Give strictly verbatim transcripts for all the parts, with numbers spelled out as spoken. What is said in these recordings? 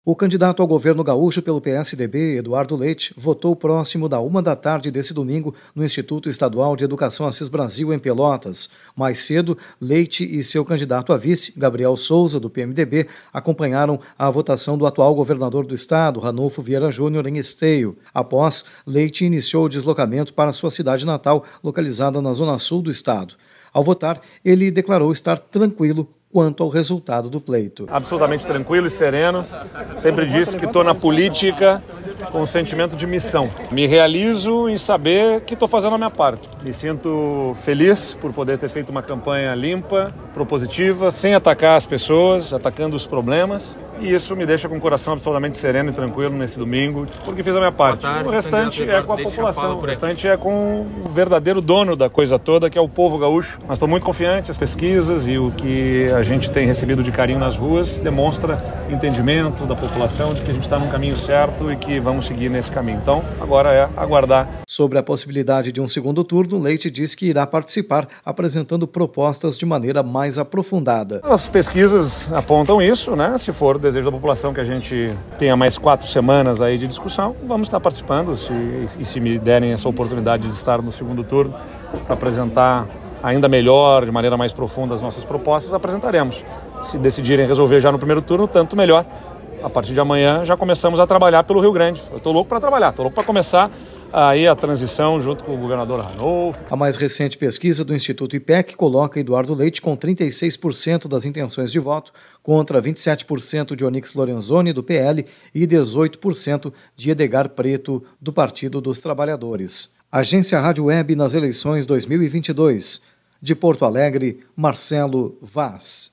O candidato ao governo gaúcho pelo P S D B, Eduardo Leite, votou próximo da uma da tarde desse domingo no Instituto Estadual de Educação Assis Brasil, em Pelotas. Mais cedo, Leite e seu candidato a vice, Gabriel Souza, do P M D B, acompanharam a votação do atual governador do estado, Ranulfo Vieira Júnior, em Esteio. Após, Leite iniciou o deslocamento para sua cidade natal, localizada na zona sul do estado. Ao votar, ele declarou estar tranquilo quanto ao resultado do pleito. Absolutamente tranquilo e sereno. Sempre disse que estou na política com um sentimento de missão. Me realizo em saber que estou fazendo a minha parte. Me sinto feliz por poder ter feito uma campanha limpa, propositiva, sem atacar as pessoas, atacando os problemas. E isso me deixa com o coração absolutamente sereno e tranquilo nesse domingo, porque fiz a minha parte. Tarde, o restante é com a população, o restante é com o verdadeiro dono da coisa toda, que é o povo gaúcho. Mas estou muito confiante, as pesquisas e o que a gente tem recebido de carinho nas ruas demonstra entendimento da população de que a gente está no caminho certo e que vamos seguir nesse caminho. Então, agora é aguardar. Sobre a possibilidade de um segundo turno, Leite diz que irá participar, apresentando propostas de maneira mais aprofundada. As pesquisas apontam isso, né? Se for o desejo da população que a gente tenha mais quatro semanas aí de discussão, vamos estar participando se, e se me derem essa oportunidade de estar no segundo turno para apresentar ainda melhor, de maneira mais profunda as nossas propostas, apresentaremos. Se decidirem resolver já no primeiro turno, tanto melhor. A partir de amanhã já começamos a trabalhar pelo Rio Grande. Eu estou louco para trabalhar, estou louco para começar aí a transição junto com o governador Ranulfo. A mais recente pesquisa do Instituto I P E C coloca Eduardo Leite com trinta e seis por cento das intenções de voto, contra vinte e sete por cento de Onyx Lorenzoni, do P L, e dezoito por cento de Edgar Preto, do Partido dos Trabalhadores. Agência Rádio Web nas eleições dois mil e vinte e dois. De Porto Alegre, Marcelo Vaz.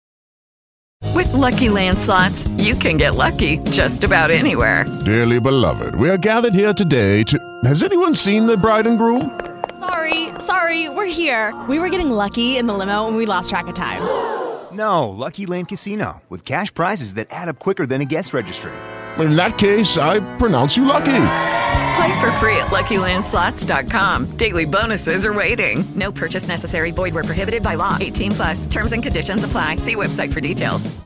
With Lucky Land Slots, you can get lucky just about anywhere. Dearly beloved, we are gathered here today to... Has anyone seen the bride and groom? Sorry, sorry, we're here. We were getting lucky in the limo and we lost track of time. No, Lucky Land Casino, with cash prizes that add up quicker than a guest registry. In that case, I pronounce you lucky. Play for free at Lucky Land Slots dot com. Daily bonuses are waiting. No purchase necessary. Void where prohibited by law. eighteen plus. Terms and conditions apply. See website for details.